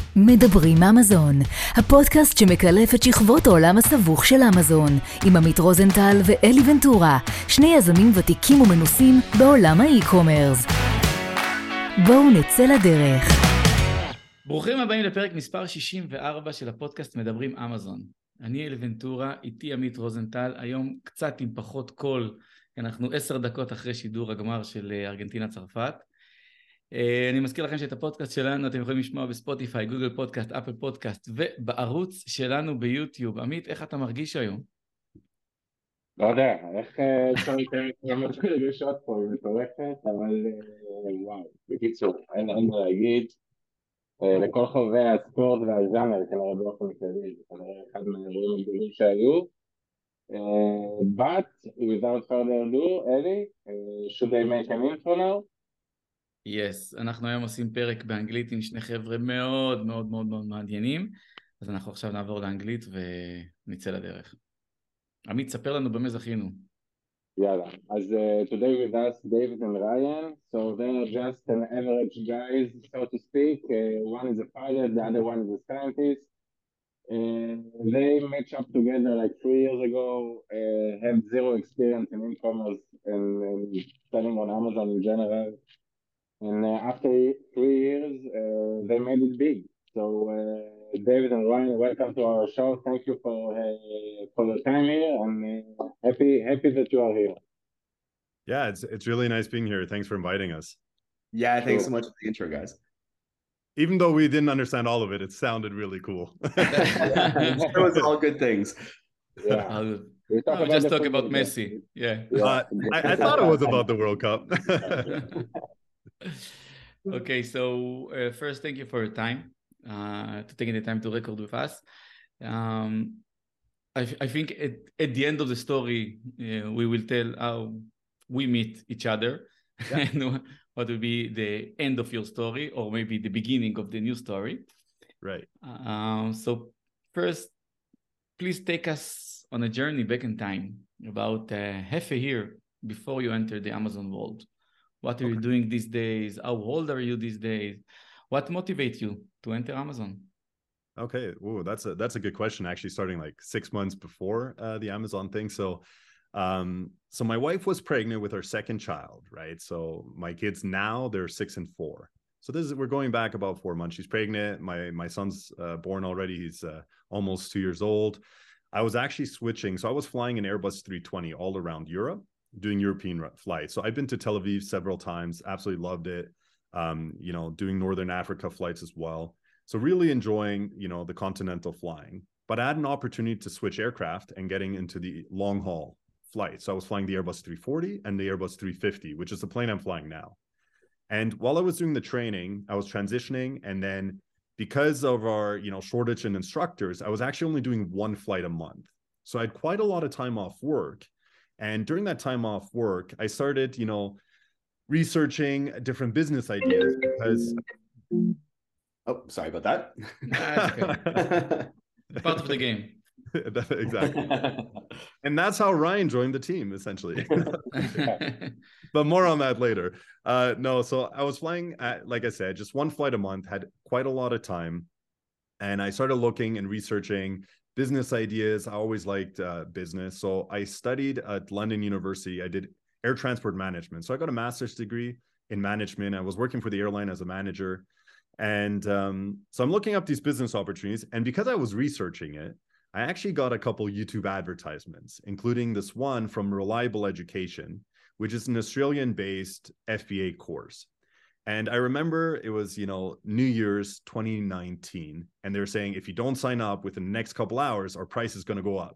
מדברים אמזון, הפודקאסט שמקלף את שכבות העולם הסבוך של אמזון, עם עמית רוזנטל ואלי ונטורה, שני יזמים ותיקים ומנוסים בעולם האי-קומרס. בואו נצא לדרך. ברוכים הבאים לפרק מספר 64 של הפודקאסט מדברים אמזון. אני אלי ונטורה, איתי עמית רוזנטל, היום קצת עם פחות קול, אנחנו 10 דקות אחרי שידור הגמר של ארגנטינה צרפת. אני מזכיר לכם שאת הפודקאסט שלנו אתם יכולים לשמוע בספוטיפיי, גוגל פודקאסט, אפל פודקאסט ובערוץ שלנו ביוטיוב. עמית, איך אתה מרגיש היום? לא יודע, איך אפשר להתחיל רגשות פה, היא מטורפת, אבל וואו, בקיצור, אין מה להגיד, לכל חובבי הספורט והז'אנר, כנראה באופן כללי, זה כנראה אחד מהאירועים הגדולים שהיו, but without further ado, אלי, should I make an intro now? Yes, אנחנו היום עושים פרק באנגלית עם שני חבר'ה מאוד מאוד מאוד מאוד מעניינים, אז אנחנו עכשיו נעבור לאנגלית ונצא לדרך. עמית, ספר לנו במה זכינו. יאללה, אז today with us David and Ryan, so they are just an average guys, so to speak. One is a pilot, the other one is a scientist. They matched up together like 3 years ago, had zero experience in e-commerce and selling on Amazon in general. And after 3 years, they made it big. So David and Ryan, welcome to our show. Thank you for the time here, and happy that you are here. Yeah, it's really nice being here. Thanks for inviting us. Yeah, thanks so much for the intro, guys. Even though we didn't understand all of it, it sounded really cool. It was all good things. Yeah. Just talk about Messi. Yeah. I thought it was about the World Cup. Okay, so first, thank you for your time, to taking the time to record with us. I think at the end of the story, we will tell how we meet each other, yeah. And what will be the end of your story, or maybe the beginning of the new story. Right. So first, please take us on a journey back in time, about half a year before you entered the Amazon world. What are you doing these days? How old are you these days? What motivates you to enter Amazon? Okay, ooh, that's a good question. Actually, starting like 6 months before the Amazon thing. So my wife was pregnant with her second child, right? So my kids now, they're 6 and 4. So we're going back about 4 months. She's pregnant. My son's born already. He's almost 2 years old. I was actually switching. So I was flying an Airbus 320 all around Europe, doing European flights. So I've been to Tel Aviv several times, absolutely loved it. Doing Northern Africa flights as well. So really enjoying, the continental flying. But I had an opportunity to switch aircraft and getting into the long haul flight. So I was flying the Airbus 340 and the Airbus 350, which is the plane I'm flying now. And while I was doing the training, I was transitioning. And then because of our, shortage in instructors, I was actually only doing 1 flight a month. So I had quite a lot of time off work. And during that time off work, I started, researching different business ideas because... Oh, sorry about that. That's okay. Part of the game. Exactly. And that's how Ryan joined the team, essentially. But more on that later. So I was flying, like I said, just 1 flight a month, had quite a lot of time. And I started looking and researching business ideas. I always liked business. So I studied at London University. I did air transport management. So I got a master's degree in management. I was working for the airline as a manager. And so I'm looking up these business opportunities. And because I was researching it, I actually got a couple YouTube advertisements, including this one from Reliable Education, which is an Australian-based FBA course. And I remember it was, New Year's 2019. And they're saying, if you don't sign up within the next couple hours, our price is going to go up.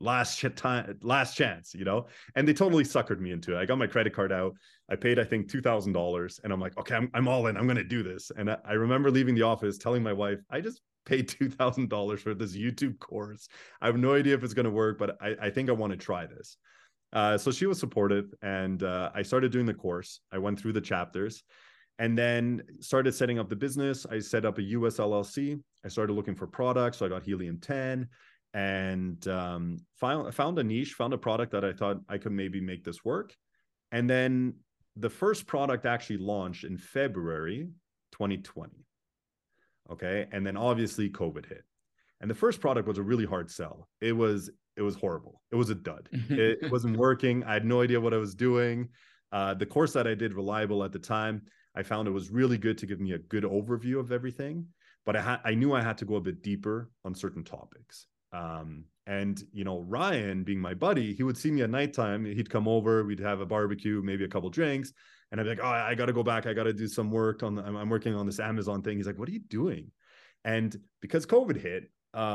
Last chance, and they totally suckered me into it. I got my credit card out. I paid, I think, $2,000. And I'm like, okay, I'm all in. I'm going to do this. And I remember leaving the office telling my wife, I just paid $2,000 for this YouTube course. I have no idea if it's going to work, but I think I want to try this. So she was supportive, and I started doing the course. I went through the chapters and then started setting up the business. I set up a US LLC. I started looking for products. So I got Helium 10 and found a niche, found a product that I thought I could maybe make this work. And then the first product actually launched in February 2020. Okay. And then obviously COVID hit. And the first product was a really hard sell. It was horrible. It was a dud. It wasn't working. I had no idea what I was doing. The course that I did, Reliable, at the time, I found it was really good to give me a good overview of everything. But I knew I had to go a bit deeper on certain topics. And, you know, Ryan, being my buddy, he would see me at nighttime. He'd come over, we'd have a barbecue, maybe a couple drinks. And I'd be like, oh, I got to go back. I got to do some work I'm working on this Amazon thing. He's like, what are you doing? And because COVID hit,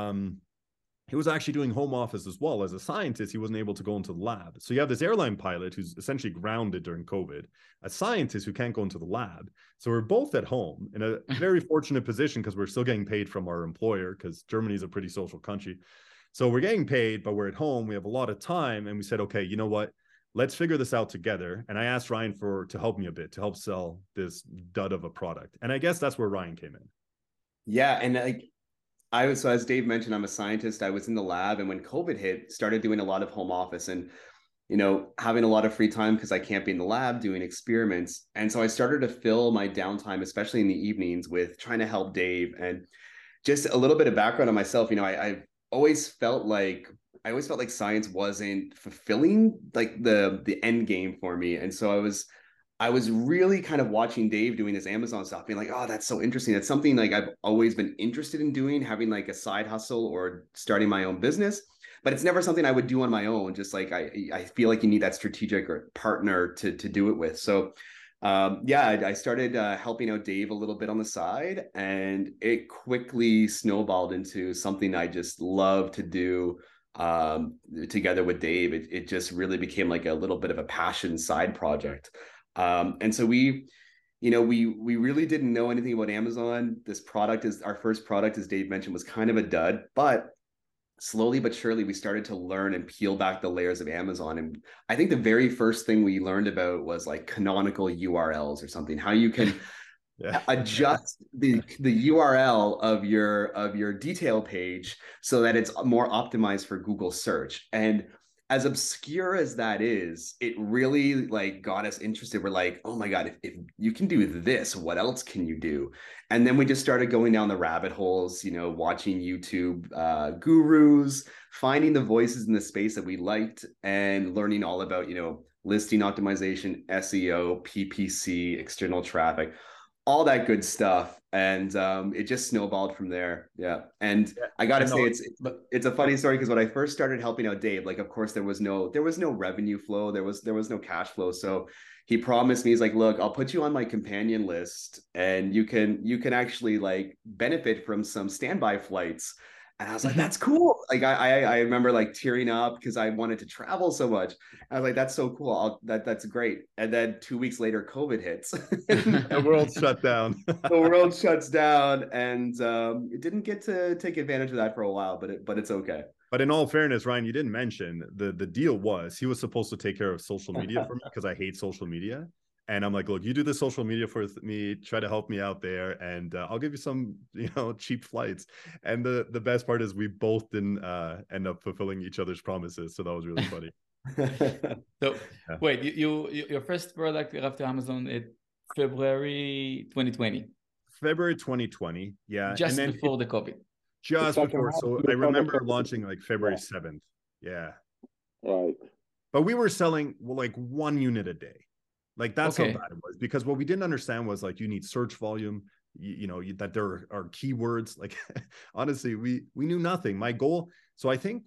he was actually doing home office as well. As a scientist, he wasn't able to go into the lab. So you have this airline pilot who's essentially grounded during COVID, a scientist who can't go into the lab. So we're both at home in a very fortunate position because we're still getting paid from our employer, because Germany is a pretty social country. So we're getting paid, but we're at home. We have a lot of time. And we said, okay, you know what? Let's figure this out together. And I asked Ryan to help me a bit, to help sell this dud of a product. And I guess that's where Ryan came in. Yeah. And so as Dave mentioned, I'm a scientist. I was in the lab, and when COVID hit, started doing a lot of home office and, you know, having a lot of free time because I can't be in the lab doing experiments. And so I started to fill my downtime, especially in the evenings, with trying to help Dave. And just a little bit of background on myself, you know, I've always felt like science wasn't fulfilling like the end game for me. And so I was really kind of watching Dave doing this Amazon stuff, being like, oh, that's so interesting. It's something like I've always been interested in doing, having like a side hustle or starting my own business, but it's never something I would do on my own. Just like, I feel like you need that strategic or partner to do it with. So I started helping out Dave a little bit on the side, and it quickly snowballed into something I just love to do together with Dave. It just really became like a little bit of a passion side project. And so we really didn't know anything about Amazon. Our first product, as Dave mentioned, was kind of a dud, but slowly but surely we started to learn and peel back the layers of Amazon. And I think the very first thing we learned about was like canonical URLs or something, how you can adjust the URL of your detail page so that it's more optimized for Google search. And as obscure as that is, it really like got us interested. We're like, oh my God, if you can do this, what else can you do? And then we just started going down the rabbit holes, you know, watching YouTube gurus, finding the voices in the space that we liked, and learning all about, you know, listing optimization, SEO, PPC, external traffic, all that good stuff. And it just snowballed from there. Yeah. And I got to say, it's a funny story, because when I first started helping out Dave, like, of course, there was no revenue flow. There was no cash flow. So he promised me, he's like, look, I'll put you on my companion list, and you can actually like benefit from some standby flights. And I was like, that's cool. Like, I remember like tearing up because I wanted to travel so much. I was like, that's so cool. That's great. And then 2 weeks later, COVID hits. The world shut down. The world shuts down, and it didn't get to take advantage of that for a while, but it's okay. But in all fairness, Ryan, you didn't mention the deal was he was supposed to take care of social media for me, because I hate social media. And I'm like, look, you do the social media for me, try to help me out there, and I'll give you some, you know, cheap flights. And the best part is we both didn't end up fulfilling each other's promises. So that was really funny. So yeah. Wait, your first product after Amazon in February 2020. February 2020, yeah. Just and then before the COVID. Just before. So I remember launching like February 7th. Yeah. Right. But we were selling like 1 unit a day. Like that's how bad it was, because what we didn't understand was like you need search volume, that there are keywords. Like honestly, we knew nothing. My goal. So I think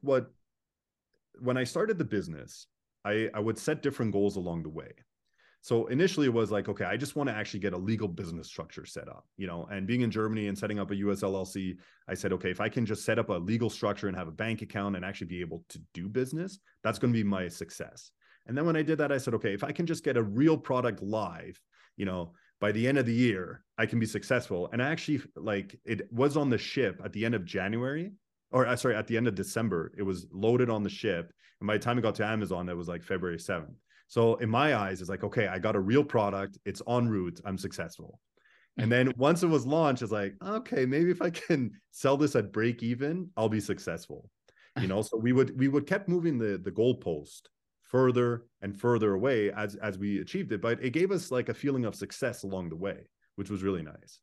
when I started the business, I would set different goals along the way. So initially it was like, okay, I just want to actually get a legal business structure set up, you know, and being in Germany and setting up a US LLC, I said, okay, if I can just set up a legal structure and have a bank account and actually be able to do business, that's going to be my success. And then when I did that, I said, okay, if I can just get a real product live, you know, by the end of the year, I can be successful. And I actually, like, it was on the ship at the end of January, or sorry, at the end of December, it was loaded on the ship. And by the time it got to Amazon, it was like February 7th. So in my eyes, it's like, okay, I got a real product. It's en route. I'm successful. And then once it was launched, it's like, okay, maybe if I can sell this at break even, I'll be successful. You know, so we would kept moving the goalpost further and further away as we achieved it. But it gave us like a feeling of success along the way, which was really nice.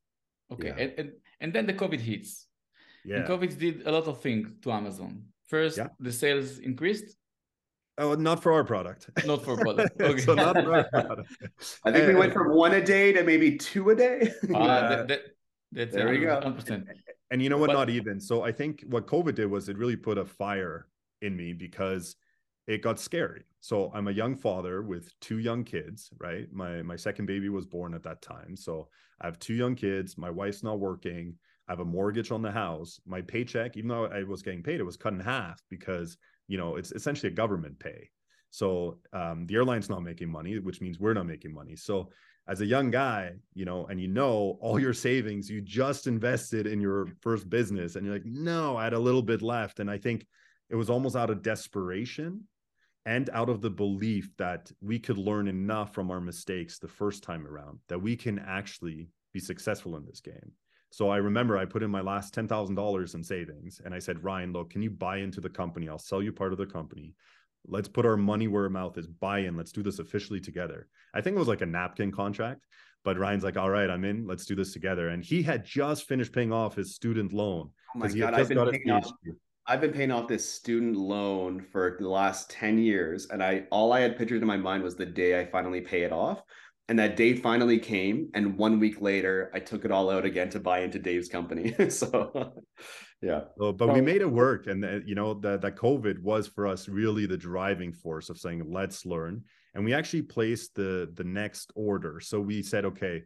Okay, Yeah. and then the COVID hits. And Yeah. COVID did a lot of things to Amazon. First, Yeah. the sales increased, Oh, not for our product. not for product. Okay. So not for our product. I think we went And- from 1 a day to maybe 2 a day. Yeah. That's There we go. 100%. And you know what? But- Not even. So I think what COVID did was it really put a fire in me because it got scary. So I'm a young father with 2 young kids, right? My second baby was born at that time. So I have 2 young kids. My wife's not working. I have a mortgage on the house. My paycheck, even though I was getting paid, it was cut in half because, you know, it's essentially a government pay. So the airline's not making money, which means we're not making money. So as a young guy, you know, and you know, all your savings, you just invested in your first business and you're like, no, I had a little bit left. And I think it was almost out of desperation and out of the belief that we could learn enough from our mistakes the first time around that we can actually be successful in this game. So I remember I put in my last $10,000 in savings and I said, Ryan, look, can you buy into the company? I'll sell you part of the company. Let's put our money where our mouth is, buy in. Let's do this officially together. I think it was like a napkin contract, but Ryan's like, all right, I'm in. Let's do this together. And he had just finished paying off his student loan. Oh my he God, had just got his PhD. I've been paying off this student loan for the last 10 years. And all I had pictured in my mind was the day I finally pay it off. And that day finally came. And 1 week later, I took it all out again to buy into Dave's company. So, yeah. So, but we made it work. And, you know, that COVID was for us really the driving force of saying, let's learn. And we actually placed the next order. So we said, okay,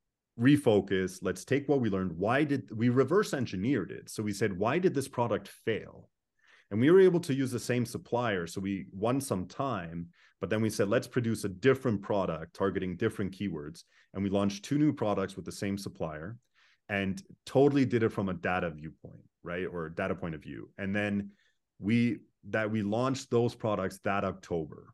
refocus. Let's take what we learned. Why did we reverse engineered it? So we said, why did this product fail? And we were able to use the same supplier. So we won some time, but then we said, let's produce a different product targeting different keywords. And we launched 2 new products with the same supplier and totally did it from a data viewpoint, right? Or data point of view. And then we launched those products that October.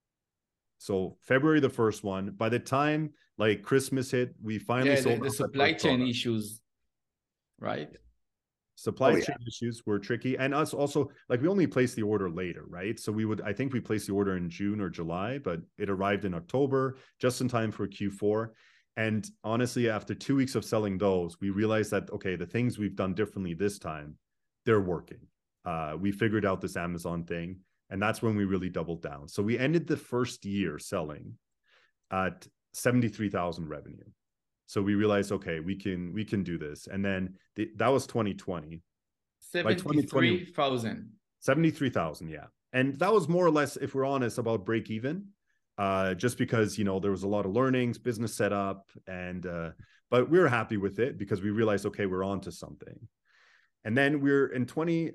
So February, the first one, by the time like Christmas hit, we finally sold the supply chain issues, right? Supply chain issues were tricky. And us also, like we only placed the order later, right? So I think we placed the order in June or July, but it arrived in October, just in time for Q4. And honestly, after 2 weeks of selling those, we realized that, okay, the things we've done differently this time, they're working. We figured out this Amazon thing, and that's when we really doubled down. So we ended the first year selling at 73,000 revenue. So we realized, okay, we can do this. And then that was 2020. 73,000. 73,000, yeah. And that was more or less, if we're honest, about break even. Just because, you know, there was a lot of learnings, business setup, and but we were happy with it because we realized, okay, we're on to something. And then we're in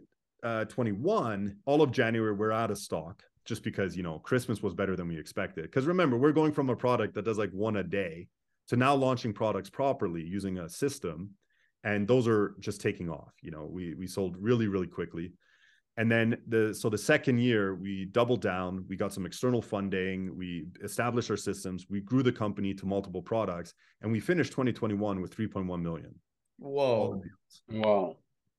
2021, all of January, we're out of stock just because, you know, Christmas was better than we expected. Because remember, we're going from a product that does like 1 a day to now launching products properly using a system. And those are just taking off. You know, we sold really, really quickly. And then the second year, we doubled down. We got some external funding. We established our systems. We grew the company to multiple products. And we finished 2021 with 3.1 million. Whoa. Wow.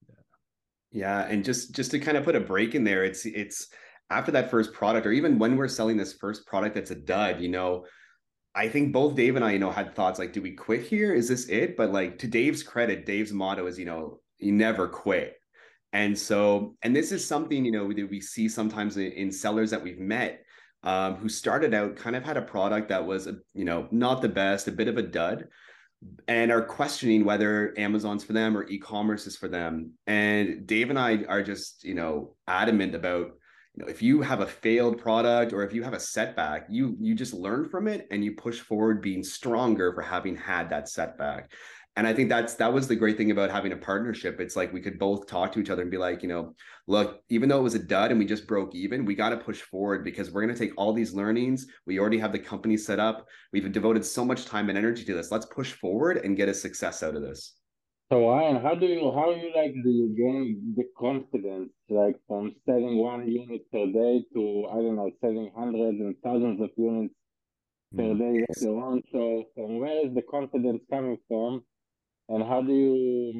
Yeah. And just to kind of put a break in there, it's after that first product, or even when we're selling this first product that's a dud, you know, I think both Dave and I, you know, had thoughts like, do we quit here? Is this it? But like, to Dave's credit, Dave's motto is, you know, you never quit. And so, and this is something, you know, that we see sometimes in sellers that we've met who started out, kind of had a product that was, you know, not the best, a bit of a dud, and are questioning whether Amazon's for them or e-commerce is for them. And Dave and I are just, you know, adamant about, you know, if you have a failed product or if you have a setback, you just learn from it and you push forward being stronger for having had that setback. And I think that was the great thing about having a partnership. It's like we could both talk to each other and be like, you know, look, even though it was a dud and we just broke even, we got to push forward because we're going to take all these learnings. We already have the company set up. We've devoted so much time and energy to this. Let's push forward and get a success out of this. So Ryan, how do you gain the confidence, like from selling 1 unit per day to, I don't know, selling hundreds and thousands of units per day later on? So from where is the confidence coming from? And how do you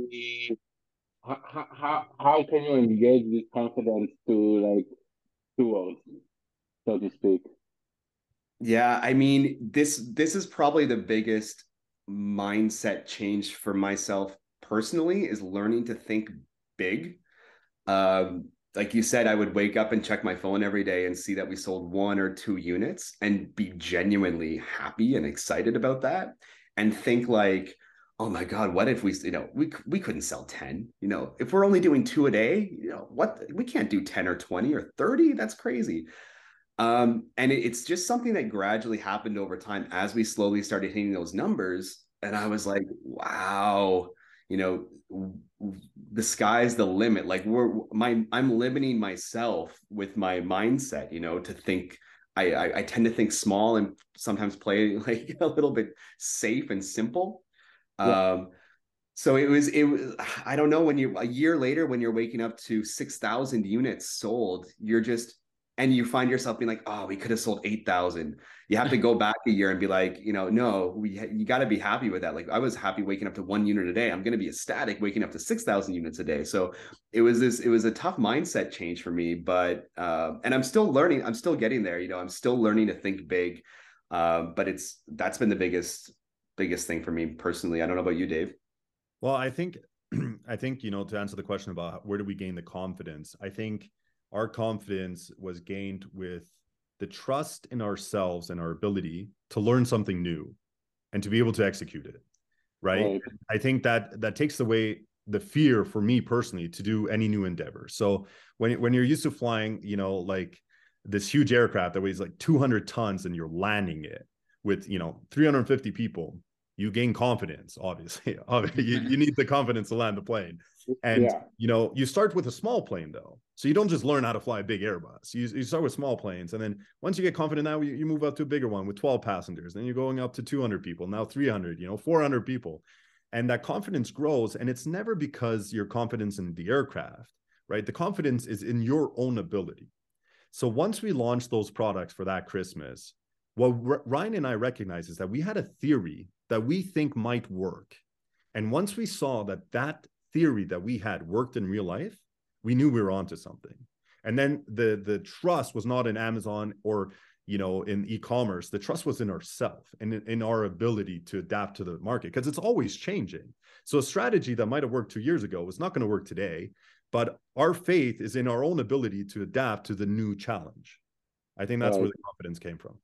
how can you engage this confidence towards, so to speak? Yeah, I mean, this is probably the biggest mindset change for myself personally is learning to think big. Like you said, I would wake up and check my phone every day and see that we sold 1 or 2 units and be genuinely happy and excited about that, and think like, oh my God, what if we, we couldn't sell 10, if we're only doing 2 a day, what, we can't do 10 or 20 or 30. That's crazy. And it's just something that gradually happened over time as we slowly started hitting those numbers. And I was like, wow, the sky's the limit. Like I'm limiting myself with my mindset, to think. I tend to think small and sometimes play like a little bit safe and simple. Yeah. So it was, I don't know, when you're a year later, when you're waking up to 6,000 units sold, and you find yourself being like, oh, we could have sold 8,000. You have to go back a year and be like, no, you got to be happy with that. Like, I was happy waking up to 1 unit a day. I'm going to be ecstatic waking up to 6,000 units a day. So it was a tough mindset change for me, but, and I'm still learning, I'm still getting there. I'm still learning to think big. But that's been the biggest thing for me personally. I don't know about you, Dave. Well, I think, to answer the question about where do we gain the confidence, I think our confidence was gained with the trust in ourselves and our ability to learn something new and to be able to execute it. Right. I think that takes away the fear for me personally to do any new endeavor. So when you're used to flying, like this huge aircraft that weighs like 200 tons and you're landing it with, 350 people, you gain confidence, obviously. You need the confidence to land the plane. And, you start with a small plane, though. So you don't just learn how to fly a big Airbus. You start with small planes. And then once you get confident, now you move up to a bigger one with 12 passengers. Then you're going up to 200 people, now 300, 400 people. And that confidence grows. And it's never because your confidence in the aircraft, right? The confidence is in your own ability. So once we launched those products for that Christmas, what Ryan and I recognize is that we had a theory that we think might work. And once we saw that theory that we had worked in real life, we knew we were onto something. And then the trust was not in Amazon or, in e-commerce. The trust was in ourselves and in our ability to adapt to the market, because it's always changing. So a strategy that might have worked 2 years ago is not going to work today, but our faith is in our own ability to adapt to the new challenge. I think that's where the confidence came from.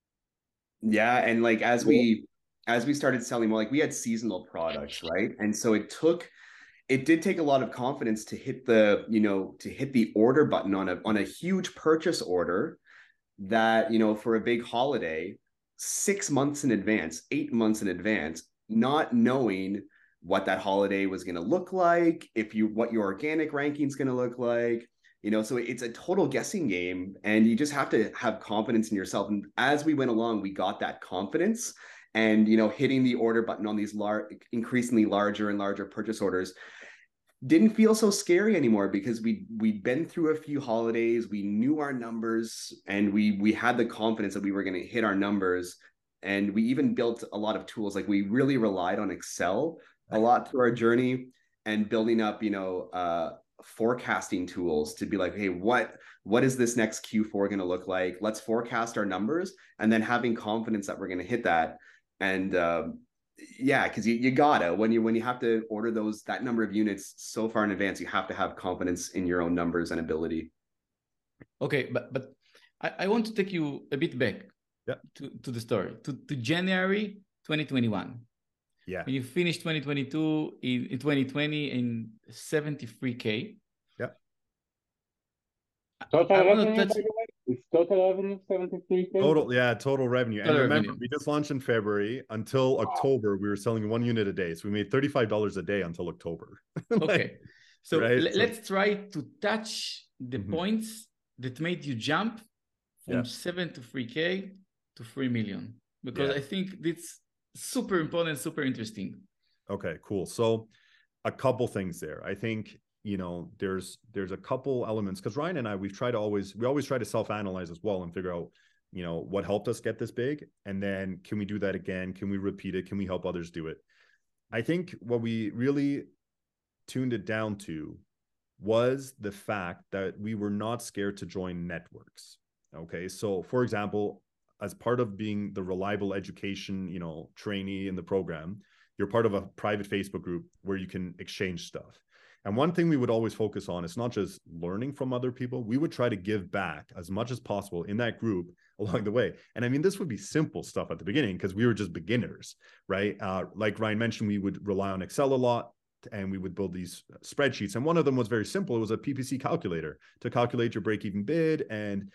Yeah. And like, as we started selling more, like we had seasonal products, right? And so it did take a lot of confidence to hit the order button on a huge purchase order that, for a big holiday, 6 months in advance, 8 months in advance, not knowing what that holiday was going to look like, what your organic ranking is going to look like, so it's a total guessing game, and you just have to have confidence in yourself. And as we went along, we got that confidence, and, hitting the order button on these increasingly larger and larger purchase orders didn't feel so scary anymore, because we'd been through a few holidays, we knew our numbers, and we had the confidence that we were going to hit our numbers. And we even built a lot of tools. Like, we really relied on Excel a lot through our journey, and building up, forecasting tools to be like, hey, what is this next Q4 going to look like? Let's forecast our numbers, and then having confidence that we're going to hit that. And because you gotta, when you have to order that number of units so far in advance, you have to have confidence in your own numbers and ability. Okay, but I want to take you a bit back to the story, to January 2021. Yeah. You finished 2022 in 2020 in 73K. Yeah. Total revenue, by the way? It's total revenue 73K? Total revenue. And remember, we just launched in February. Until October, we were selling 1 unit a day. So we made $35 a day until October. Okay. So let's try to touch the points that made you jump from 73K to 3 million. Because I think that's super important, super interesting. Okay, cool. So a couple things there. I think, there's a couple elements, because Ryan and I, we always try to self-analyze as well and figure out, what helped us get this big. And then can we do that again? Can we repeat it? Can we help others do it? I think what we really tuned it down to was the fact that we were not scared to join networks. Okay. So for example, as part of being the reliable education, trainee in the program, you're part of a private Facebook group where you can exchange stuff. And one thing we would always focus on is not just learning from other people. We would try to give back as much as possible in that group along the way. And I mean, this would be simple stuff at the beginning because we were just beginners, right? Like Ryan mentioned, we would rely on Excel a lot and we would build these spreadsheets. And one of them was very simple. It was a PPC calculator to calculate your break-even bid and,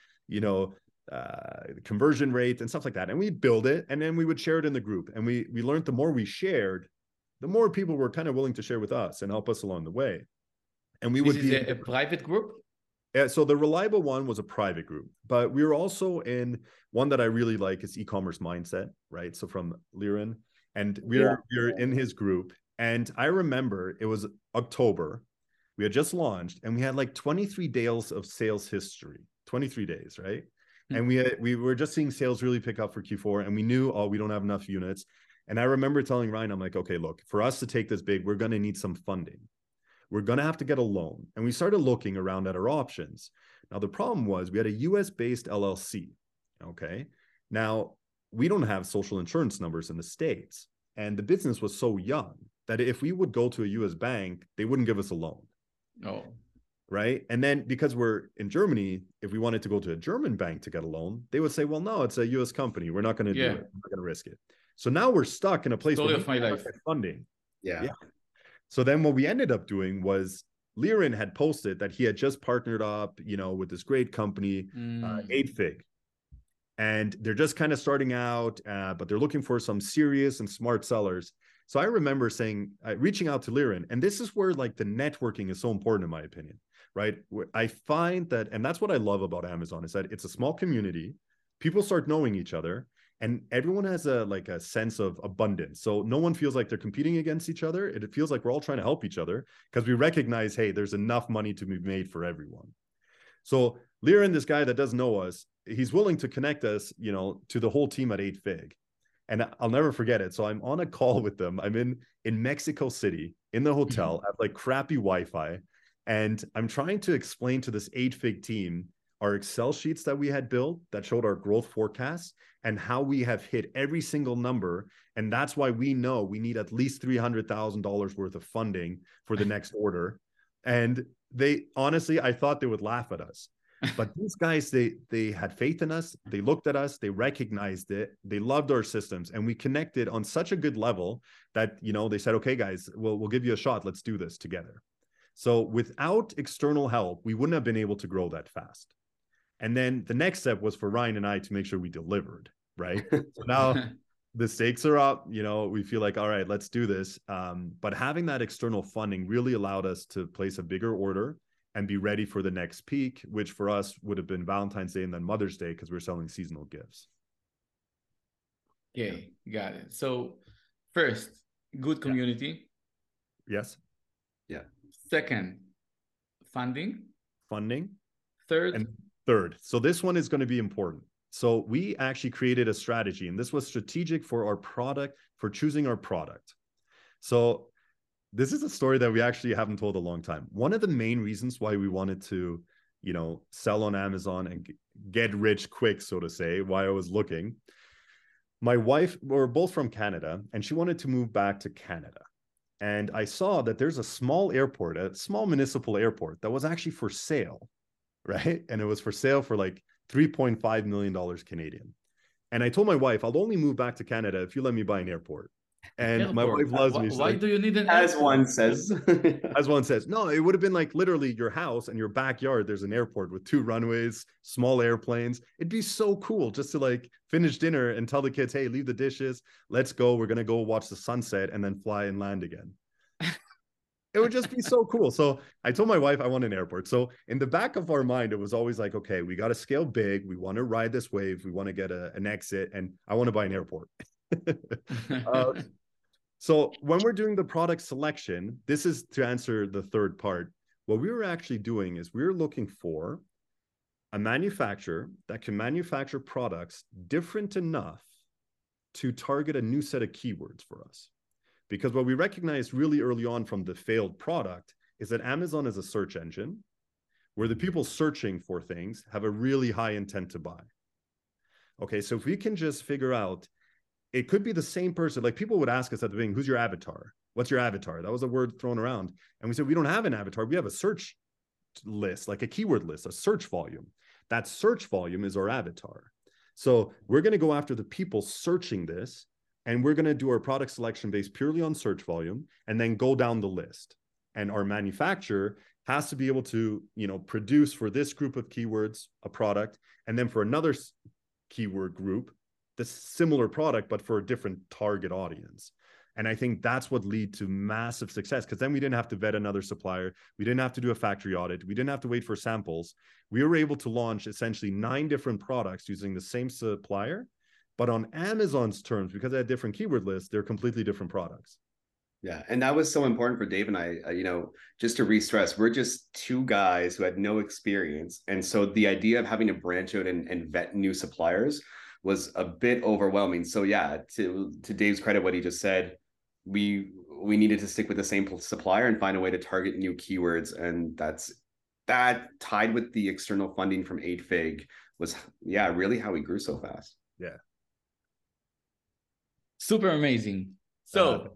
conversion rate and stuff like that. And we'd build it and then we would share it in the group. And we learned the more we shared, the more people were kind of willing to share with us and help us along the way. And we would be a private group? Yeah, so the Reliable one was a private group, but we were also in one that I really like is e-commerce mindset, right? So from Liran, and we're in his group. And I remember it was October, we had just launched and we had like 23 days of sales history, 23 days, right? And we were just seeing sales really pick up for Q4 and we knew, we don't have enough units. And I remember telling Ryan, I'm like, okay, look, for us to take this big, we're going to need some funding. We're going to have to get a loan. And we started looking around at our options. Now, the problem was we had a US-based LLC, okay? Now, we don't have social insurance numbers in the States. And the business was so young that if we would go to a US bank, they wouldn't give us a loan. Oh. Right? And then because we're in Germany, if we wanted to go to a German bank to get a loan, they would say, well, no, it's a US company. We're not going to do it. We're not going to risk it. So now we're stuck in a place Story where of my life. Funding. Yeah. So then what we ended up doing was Liran had posted that he had just partnered up, with this great company, 8Fig. And they're just kind of starting out, but they're looking for some serious and smart sellers. So I remember reaching out to Liran, and this is where like the networking is so important in my opinion, right? I find that, and that's what I love about Amazon is that it's a small community. People start knowing each other. And everyone has a sense of abundance. So no one feels like they're competing against each other. It feels like we're all trying to help each other because we recognize, hey, there's enough money to be made for everyone. So Liran, this guy that doesn't know us, he's willing to connect us, to the whole team at 8Fig. And I'll never forget it. So I'm on a call with them. I'm in Mexico City in the hotel at like crappy Wi-Fi. And I'm trying to explain to this 8Fig team our Excel sheets that we had built that showed our growth forecasts and how we have hit every single number. And that's why we know we need at least $300,000 worth of funding for the next order. And they honestly, I thought they would laugh at us. But these guys, they had faith in us. They looked at us. They recognized it. They loved our systems. And we connected on such a good level that, they said, okay, guys, we'll give you a shot. Let's do this together. So without external help, we wouldn't have been able to grow that fast. And then the next step was for Ryan and I to make sure we delivered, right? So now the stakes are up, we feel like, all right, let's do this. But having that external funding really allowed us to place a bigger order and be ready for the next peak, which for us would have been Valentine's Day and then Mother's Day because we're selling seasonal gifts. Okay, got it. So first, good community. Yes. Yeah. Second, funding. Third. So this one is going to be important. So we actually created a strategy, and this was strategic for our product, for choosing our product. So this is a story that we actually haven't told a long time. One of the main reasons why we wanted to, sell on Amazon and get rich quick, so to say, why I was looking, my wife, we're both from Canada, and she wanted to move back to Canada. And I saw that there's a small airport, a small municipal airport that was actually for sale. Right. And it was for sale for like $3.5 million Canadian. And I told my wife, I'll only move back to Canada if you let me buy an airport. And my wife loves me. Why do you need an airport? As one says. No, it would have been like literally your house and your backyard. There's an airport with 2 runways, small airplanes. It'd be so cool just to like finish dinner and tell the kids, hey, leave the dishes. Let's go. We're going to go watch the sunset and then fly and land again. It would just be so cool. So I told my wife I want an airport. So in the back of our mind, it was always like, okay, we got to scale big. We want to ride this wave. We want to get an exit, and I want to buy an airport. So when we're doing the product selection, this is to answer the third part. What we were actually doing is we were looking for a manufacturer that can manufacture products different enough to target a new set of keywords for us. Because what we recognized really early on from the failed product is that Amazon is a search engine where the people searching for things have a really high intent to buy. Okay, so if we can just figure out, it could be the same person. Like people would ask us at the beginning, who's your avatar? What's your avatar? That was a word thrown around. And we said, we don't have an avatar. We have a search list, like a keyword list, a search volume. That search volume is our avatar. So we're going to go after the people searching this, and we're going to do our product selection based purely on search volume, and then go down the list. And our manufacturer has to be able to, produce for this group of keywords a product, and then for another keyword group, the similar product, but for a different target audience. And I think that's what led to massive success, because then we didn't have to vet another supplier. We didn't have to do a factory audit. We didn't have to wait for samples. We were able to launch essentially 9 different products using the same supplier, but on Amazon's terms, because they had different keyword lists, they're completely different products. Yeah. And that was so important for Dave and I, just to re-stress, we're just 2 guys who had no experience. And so the idea of having to branch out and vet new suppliers was a bit overwhelming. So yeah, to Dave's credit, what he just said, we needed to stick with the same supplier and find a way to target new keywords. And that tied with the external funding from 8Fig was, really how we grew so fast. Yeah. Super amazing. So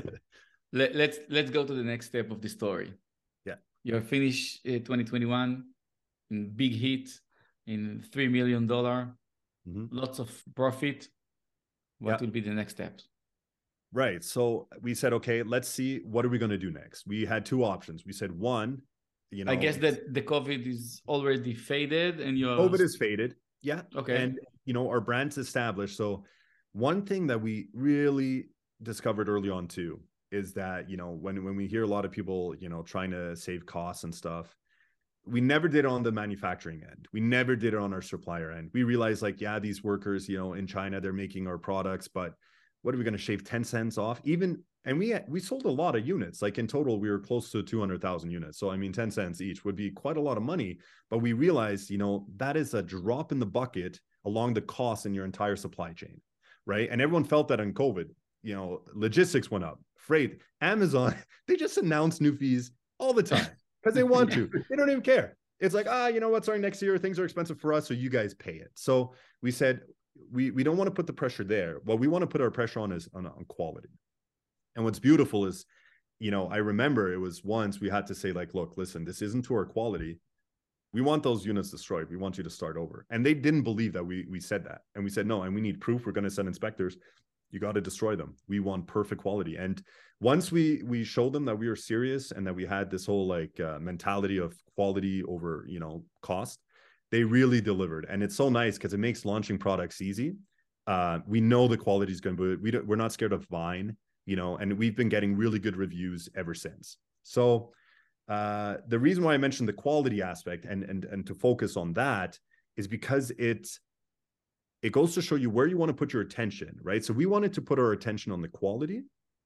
let's go to the next step of the story. Yeah. You're finished 2021 in big hit in $3 million, lots of profit. What will be the next steps? Right. So we said, okay, let's see, what are we going to do next? We had 2 options. We said, one, I guess that the COVID is already faded and COVID is faded. Yeah. Okay. And, our brand's established. So one thing that we really discovered early on too is that, when we hear a lot of people, trying to save costs and stuff, we never did it on the manufacturing end. We never did it on our supplier end. We realized these workers, in China, they're making our products, but what are we going to shave 10 cents off? And we sold a lot of units. Like in total, we were close to 200,000 units. So, 10 cents each would be quite a lot of money. But we realized, that is a drop in the bucket along the cost in your entire supply chain, right? And everyone felt that in COVID, logistics went up, freight, Amazon, they just announce new fees all the time because they want to. They don't even care. It's like, what's our next year? Things are expensive for us, so you guys pay it. So we said, we don't want to put the pressure there. What we want to put our pressure on is on quality. And what's beautiful is, I remember it was once we had to say look, listen, this isn't to our quality. We want those units destroyed. We want you to start over. And they didn't believe that we said that. And we said, no, and we need proof. We're going to send inspectors. You got to destroy them. We want perfect quality. And once we showed them that we were serious and that we had this whole mentality of quality over, cost, they really delivered. And it's so nice because it makes launching products easy. We know the quality is going to be, we're not scared of Vine, and we've been getting really good reviews ever since. So the reason why I mentioned the quality aspect and to focus on that is because it goes to show you where you want to put your attention, right? So we wanted to put our attention on the quality.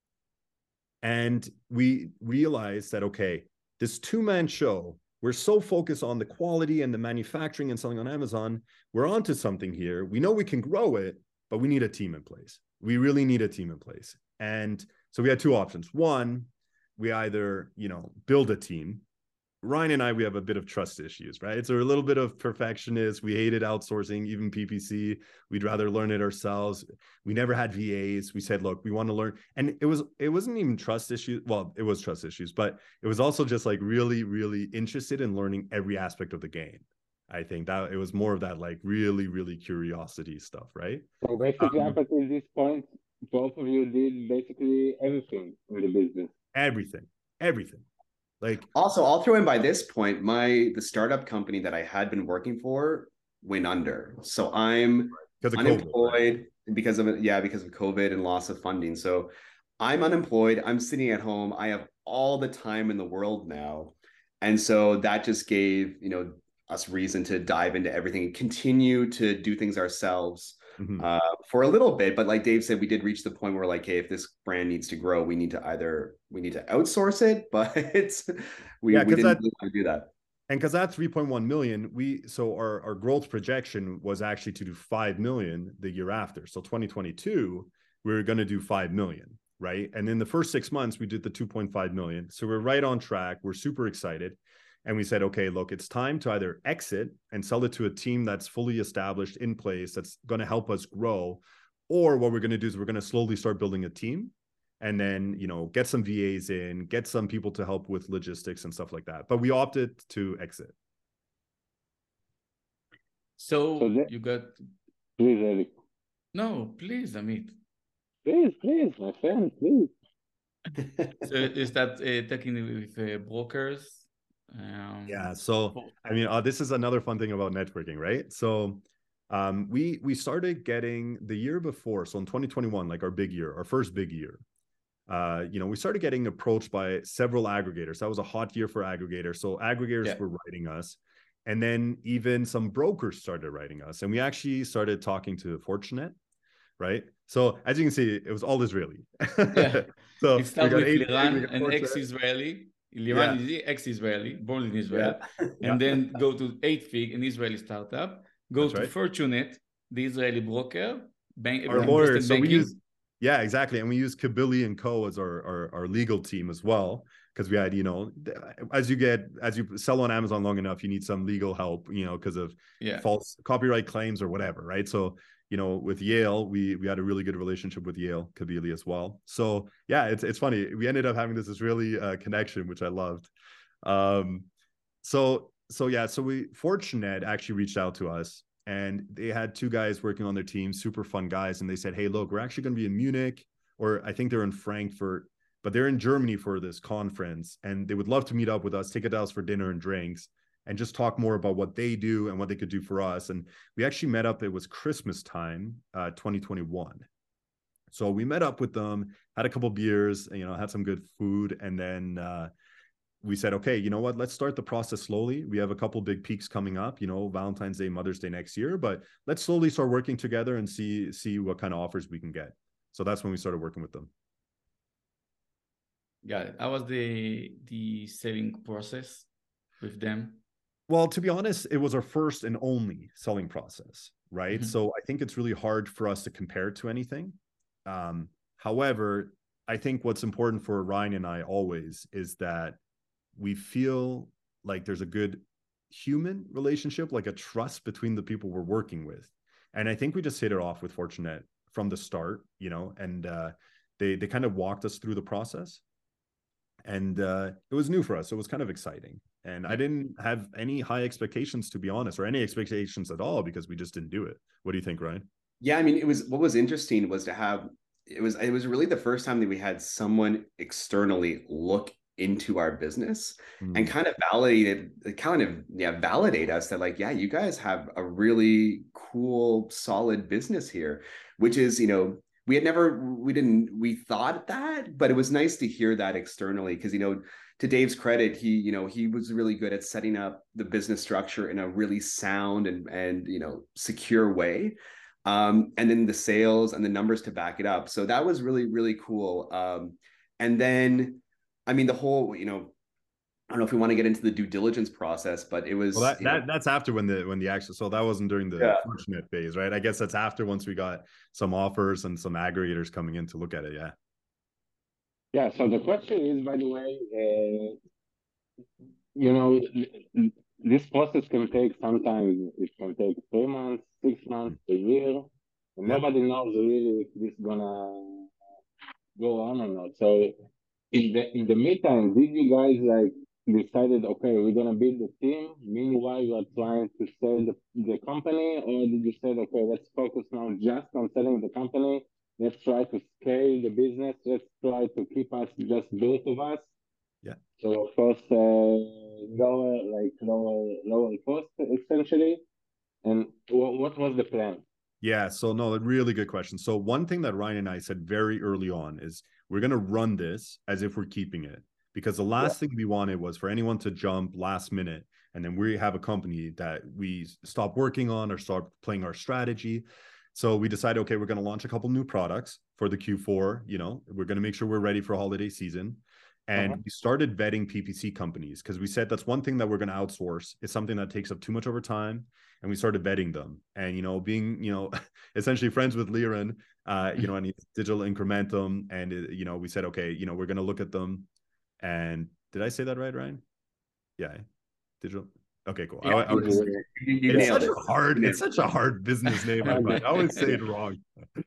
And we realized that, okay, this 2-man show, we're so focused on the quality and the manufacturing and selling on Amazon, we're onto something here. We know we can grow it, but we need a team in place. We really need a team in place. And so we had 2 options. One, we either, build a team. Ryan and I, we have a bit of trust issues, right? So we're a little bit of perfectionists. We hated outsourcing, even PPC. We'd rather learn it ourselves. We never had VAs. We said, look, we want to learn. And it wasn't even trust issues. Well, it was trust issues, but it was also just really, really interested in learning every aspect of the game. I think that it was more of that really, really curiosity stuff, right? So basically, up until this point, both of you did basically everything in the business. Everything. Also, I'll throw in by this point, the startup company that I had been working for went under. So I'm unemployed because of COVID and loss of funding. So I'm unemployed. I'm sitting at home. I have all the time in the world now. And so that just gave, us reason to dive into everything and continue to do things ourselves for a little bit. But like Dave said, we did reach the point where hey, if this brand needs to grow, we need to outsource it, but we didn't really want to do that. And because that 3.1 million, our growth projection was actually to do 5 million the year after. So 2022, we were going to do 5 million, right? And in the first 6 months, we did the 2.5 million. So we're right on track. We're super excited. And we said, okay, look, it's time to either exit and sell it to a team that's fully established in place, that's going to help us grow. Or what we're going to do is we're going to slowly start building a team and then, get some VAs in, get some people to help with logistics and stuff like that. But we opted to exit. So you got... Please, Eric. No, please, Amit. Please, my friend, please. So is that talking with brokers? Yeah. So, this is another fun thing about networking, right? So we started getting the year before. So in 2021, like our big year, our first big year, we started getting approached by several aggregators. That was a hot year for aggregators. So aggregators were writing us. And then even some brokers started writing us. And we actually started talking to Fortinet, right? So as you can see, it was all Israeli. Yeah. So it started with Liran, an ex-Israeli. Liran is ex-Israeli, born in Israel. And then go to 8fig, an Israeli startup. Go to Fortinet, the Israeli broker. Our lawyers. So we use... Yeah, exactly. And we use Kabili & Co. as our legal team as well. Because we had, as you sell on Amazon long enough, you need some legal help, because of false copyright claims or whatever, right? So, with Yale, we had a really good relationship with Yale, Kabili as well. So yeah, it's funny. We ended up having this Israeli connection, which I loved. So Fortinet actually reached out to us, and they had two guys working on their team, super fun guys. And they said, hey, look, we're actually going to be in Munich, or I think they're in Frankfurt, but they're in Germany for this conference. And they would love to meet up with us, take us for dinner and drinks, and just talk more about what they do and what they could do for us. And we actually met up. It was Christmas time, 2021. So we met up with them, had a couple beers, had some good food. And then we said, okay, you know what, let's start the process slowly. We have a couple big peaks coming up, Valentine's Day, Mother's Day next year, but let's slowly start working together and see what kind of offers we can get. So that's when we started working with them. Got it. How was the selling process with them? Well, to be honest, it was our first and only selling process, right? Mm-hmm. So I think it's really hard for us to compare it to anything. However, I think what's important for Ryan and I always is that we feel like there's a good human relationship, like a trust between the people we're working with. And I think we just hit it off with Fortinet from the start, and they kind of walked us through the process. And it was new for us. So it was kind of exciting. And I didn't have any high expectations, to be honest, or any expectations at all, because we just didn't do it. What do you think, Ryan? Yeah, I mean, what was interesting was to have, it was really the first time that we had someone externally look into our business and kind of validate us that, like, yeah, you guys have a really cool, solid business here, which is, we thought that, but it was nice to hear that externally, because, to Dave's credit, he was really good at setting up the business structure in a really sound and secure way. And then the sales and the numbers to back it up. So that was really, really cool. And then, I mean, the whole, I don't know if we want to get into the due diligence process, but it was... Well, that's after when the actual... So that wasn't during the Fortinet phase, right? I guess that's after, once we got some offers and some aggregators coming in to look at it, yeah. Yeah, so the question is, by the way, this process can take, sometimes it can take 3 months, 6 months, a year, and nobody knows really if this is gonna go on or not. So in the meantime, did you guys decided, okay, we're gonna build a team, meanwhile you are trying to sell the company, or did you say, okay, let's focus now just on selling the company, let's try to scale the business, let's try to keep us just both of us? Yeah. So of course, lower cost essentially. And what was the plan? Yeah, so no, a really good question. So one thing that Ryan and I said very early on is we're going to run this as if we're keeping it, because the last thing we wanted was for anyone to jump last minute and then we have a company that we stop working on or start playing our strategy. So we decided, okay, we're going to launch a couple new products for the Q4. We're going to make sure we're ready for holiday season. And we started vetting PPC companies, because we said that's one thing that we're going to outsource. It's something that takes up too much of our time. And we started vetting them. And, being, essentially friends with Liran, and Digital Incrementum. And, we said, okay, we're going to look at them. And did I say that right, Ryan? Yeah. Digital. Okay, cool. Yeah, you nailed it. It's such a hard business name. I always say it wrong.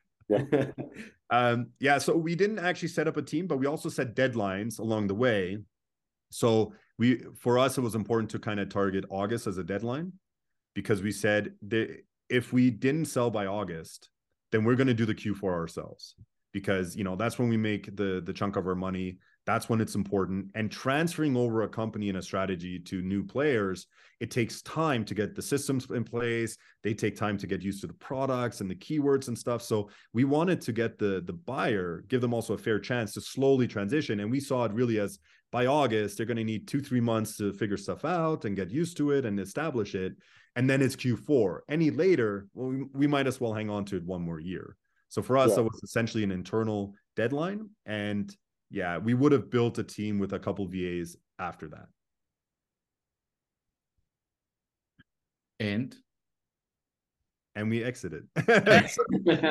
Yeah, so we didn't actually set up a team, but we also set deadlines along the way. So for us, it was important to kind of target August as a deadline, because we said that if we didn't sell by August, then we're going to do the Q4 ourselves, because, you know, that's when we make the chunk of our money. That's when it's important. And transferring over a company and a strategy to new players, it takes time to get the systems in place. They take time to get used to the products and the keywords and stuff. So we wanted to get the buyer, give them also a fair chance to slowly transition. And we saw it really as by August, they're going to need 2-3 months to figure stuff out and get used to it and establish it. And then it's Q4. Any later, well, we might as well hang on to it one more year. So for us, that was essentially an internal deadline. And yeah, we would have built a team with a couple VAs after that. And we exited. And that's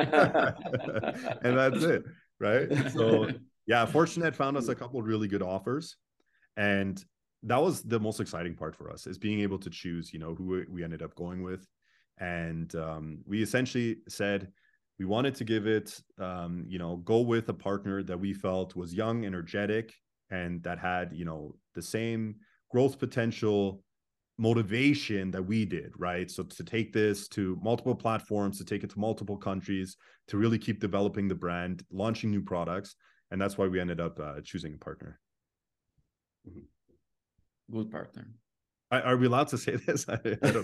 it, right? So yeah, Fortinet found us a couple of really good offers. And that was the most exciting part for us, is being able to choose, you know, who we ended up going with. And we essentially said, we wanted to give it, you know, go with a partner that we felt was young, energetic, and that had, you know, the same growth potential, motivation that we did, right? So to take this to multiple platforms, to take it to multiple countries, to really keep developing the brand, launching new products. And that's why we ended up choosing a partner. Good partner. Are we allowed to say this? I don't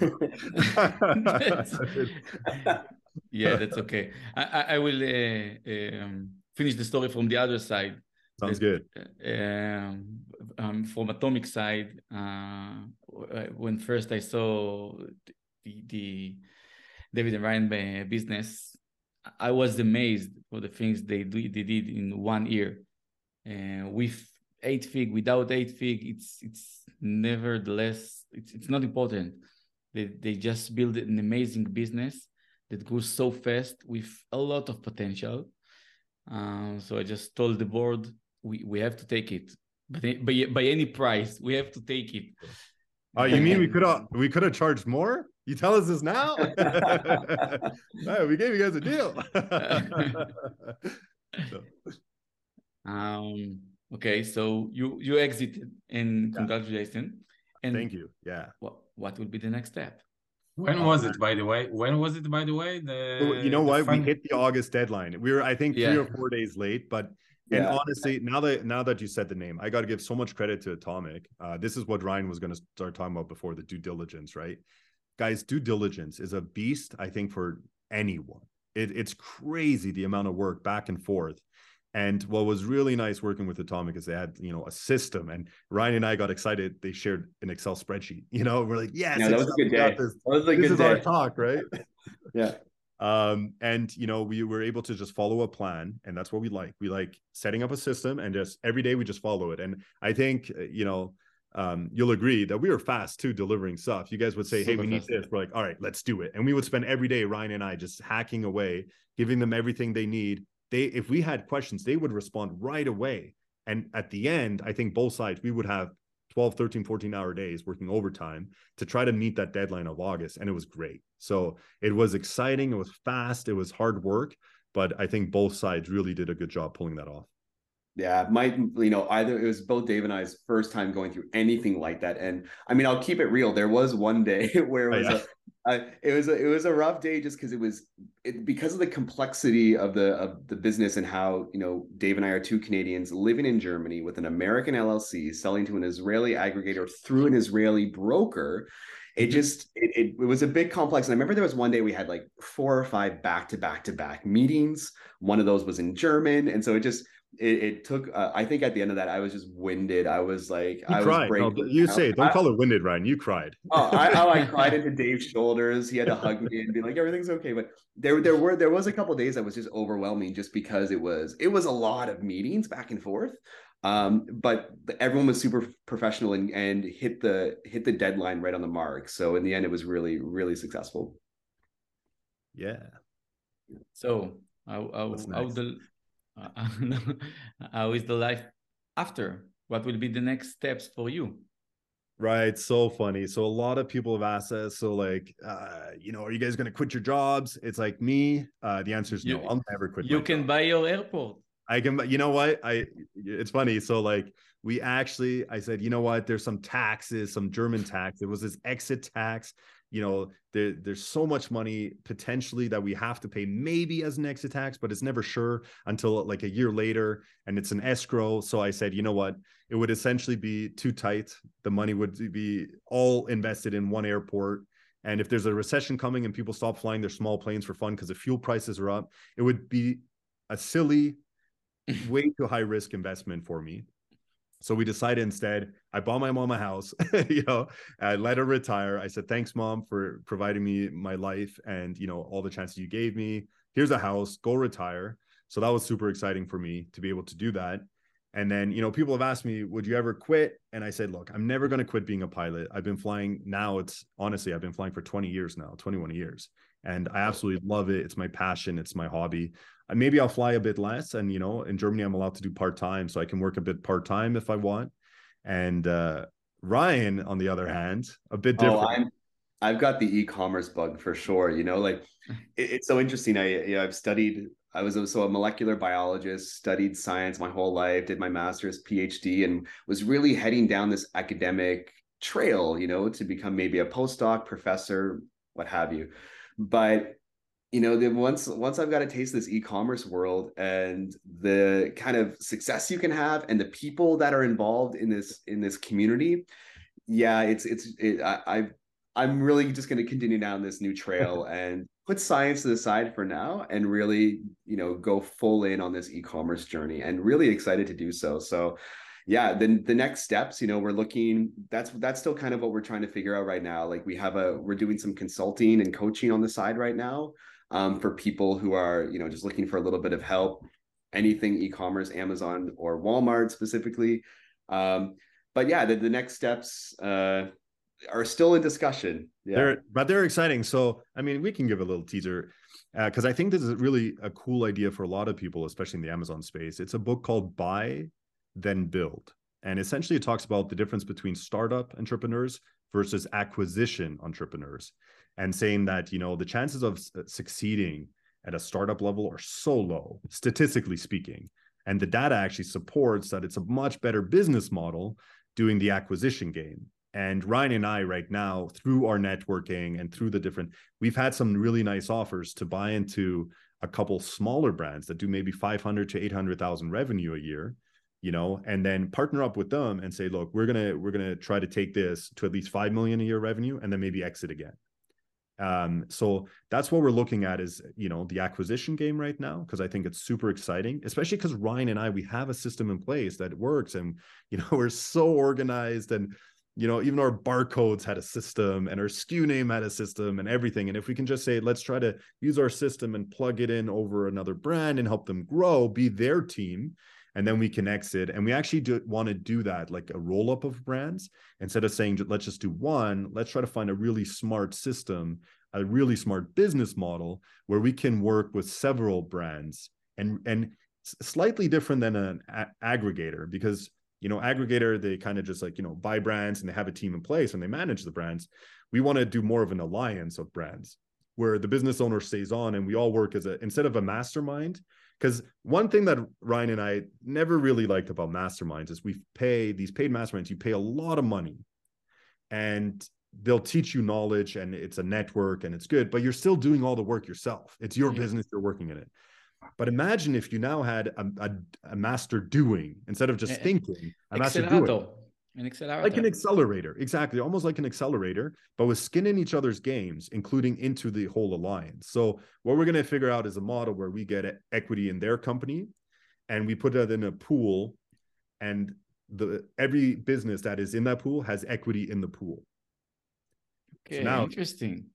know. Yeah, that's okay. I will finish the story from the other side. Sounds good. From Atomic side, when first I saw the David and Ryan business, I was amazed for the things they did in 1 year. With 8-fig, without 8-fig, it's nevertheless, it's not important. They just built an amazing business that grew so fast with a lot of potential. So I just told the board, we have to take it, but by any price, we have to take it. Oh, you mean we could have charged more? You tell us this now? Right, we gave you guys a deal. Okay, so you exited, and congratulations. And thank you. Yeah. What will be the next step? When was it, by the way? You know what? We hit the August deadline. We were, I think, 3 or 4 days late, but and honestly, now that you said the name, I got to give so much credit to Atomic. This is what Ryan was going to start talking about before, the due diligence, right? Guys, due diligence is a beast, I think, for anyone. It's crazy the amount of work back and forth. And what was really nice working with Atomic is they had, you know, a system, and Ryan and I got excited. They shared an Excel spreadsheet, you know, we're like, yes, that was a good day. This is our talk, right? Yeah. And, you know, we were able to just follow a plan, and that's what we like. We like setting up a system, and just every day we just follow it. And I think, you know, you'll agree that we were fast too, delivering stuff. You guys would say, hey, we need this. We're like, all right, let's do it. And we would spend every day, Ryan and I, just hacking away, giving them everything they need. If we had questions, they would respond right away. And at the end, I think both sides, we would have 12, 13, 14-hour days working overtime to try to meet that deadline of August. And it was great. So it was exciting. It was fast. It was hard work. But I think both sides really did a good job pulling that off. Yeah, it was both Dave and I's first time going through anything like that. And I mean, I'll keep it real. There was one day where it was a rough day, just because because of the complexity of the business, and how, you know, Dave and I are two Canadians living in Germany with an American LLC selling to an Israeli aggregator through an Israeli broker. It was a bit complex. And I remember there was one day we had like 4 or 5 back-to-back meetings. One of those was in German. And so it took, I think at the end of that, I was just winded. I was like, I was breaking. You say, don't call it winded, Ryan. You cried. I cried into Dave's shoulders. He had to hug me and be like, everything's okay. But there was a couple of days that was just overwhelming, just because it was a lot of meetings back and forth. But everyone was super professional and hit the deadline right on the mark. So in the end, it was really, really successful. Yeah. So how is the life after? What will be the next steps for you? Right. So funny. So a lot of people have asked us, so like, are you guys going to quit your jobs? It's like me. The answer is no. I'll never quit my You can job. buy your airport. I can, you know what? It's funny. So like I said, you know what? There's some taxes, some German tax. There was this exit tax. There's so much money potentially that we have to pay maybe as an exit tax, but it's never sure until like a year later, and it's an escrow. So I said, you know what? It would essentially be too tight. The money would be all invested in one airport. And if there's a recession coming and people stop flying their small planes for fun because the fuel prices are up, it would be a silly, way too high risk investment for me. So we decided instead, I bought my mom a house, I let her retire. I said, thanks, Mom, for providing me my life and, all the chances you gave me. Here's a house, go retire. So that was super exciting for me to be able to do that. And then, people have asked me, would you ever quit? And I said, look, I'm never going to quit being a pilot. I've been flying now. I've been flying for 20 years now, 21 years. And I absolutely love it. It's my passion. It's my hobby. Maybe I'll fly a bit less. And, in Germany, I'm allowed to do part-time. So I can work a bit part-time if I want. And Ryan, on the other hand, a bit different. I've got the e-commerce bug for sure. It's so interesting. I was also a molecular biologist, studied science my whole life, did my master's, PhD, and was really heading down this academic trail, to become maybe a postdoc, professor, what have you. But then once I've got a taste of this e-commerce world and the kind of success you can have and the people that are involved in this community, I'm really just going to continue down this new trail and put science to the side for now and really, go full in on this e-commerce journey, and really excited to do so. So yeah, then the next steps, we're looking, that's still kind of what we're trying to figure out right now. Like we're doing some consulting and coaching on the side right now, for people who are, just looking for a little bit of help, anything e-commerce, Amazon or Walmart specifically. But yeah, the next steps, are still in discussion. Yeah. They're exciting. So, we can give a little teaser because I think this is really a cool idea for a lot of people, especially in the Amazon space. It's a book called Buy, Then Build. And essentially it talks about the difference between startup entrepreneurs versus acquisition entrepreneurs, and saying that, the chances of succeeding at a startup level are so low, statistically speaking. And the data actually supports that it's a much better business model doing the acquisition game. And Ryan and I right now, through our networking and through we've had some really nice offers to buy into a couple smaller brands that do maybe 500 to 800,000 revenue a year, and then partner up with them and say, look, we're going to try to take this to at least 5 million a year revenue and then maybe exit again. So that's what we're looking at is, the acquisition game right now, because I think it's super exciting, especially because Ryan and I, we have a system in place that works, and, we're so organized, and, even our barcodes had a system and our SKU name had a system and everything. And if we can just say, let's try to use our system and plug it in over another brand and help them grow, be their team, and then we can exit. And we actually want to do that, like a roll up of brands. Instead of saying, let's just do one, let's try to find a really smart system, a really smart business model where we can work with several brands, and slightly different than an aggregator, because, aggregator, they kind of just like, buy brands and they have a team in place and they manage the brands. We want to do more of an alliance of brands where the business owner stays on and we all work instead of a mastermind. Because one thing that Ryan and I never really liked about masterminds is these paid masterminds, you pay a lot of money and they'll teach you knowledge and it's a network and it's good, but you're still doing all the work yourself. It's your business, you're working in it. But imagine if you now had a master doing, instead of just thinking, a master doing. An accelerator. Like an accelerator, exactly. Almost like an accelerator, but with skin in each other's games, including into the whole alliance. So what we're going to figure out is a model where we get equity in their company and we put that in a pool, and every business that is in that pool has equity in the pool. Okay, so now, interesting.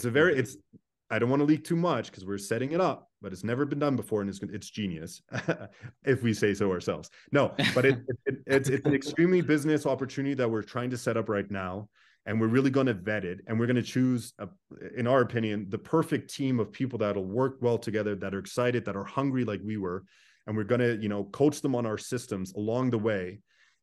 I don't want to leak too much because we're setting it up, but it's never been done before, and it's genius, if we say so ourselves. No, but it's an extremely business opportunity that we're trying to set up right now, and we're really going to vet it, and we're going to choose, in our opinion, the perfect team of people that'll work well together, that are excited, that are hungry like we were, and we're going to, coach them on our systems along the way.